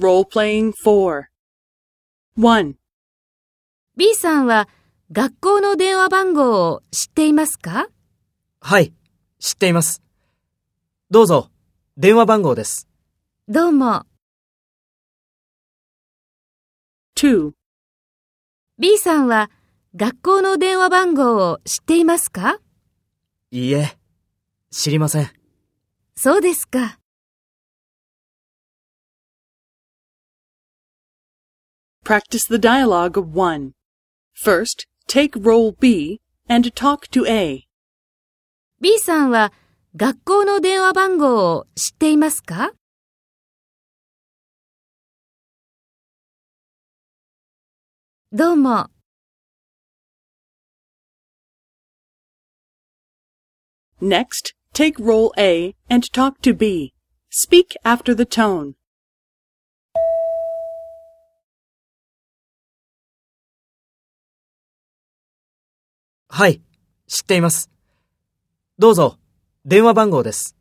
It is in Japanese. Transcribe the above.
Role-playing 4. 1. B さんは学校の電話番号を知っていますか？ はい、知っています。どうぞ、電話番号です。 どうも。 2. B さんは学校の電話番号を知っていますか？ いいえ、知りません。 そうですか。 Practice the dialogue of 1. First, take role B and talk to A. B さんは学校の電話番号を知っていますか？どうも。 Next, take role A and talk to B. Speak after the tone. はい、知っています。どうぞ、電話番号です。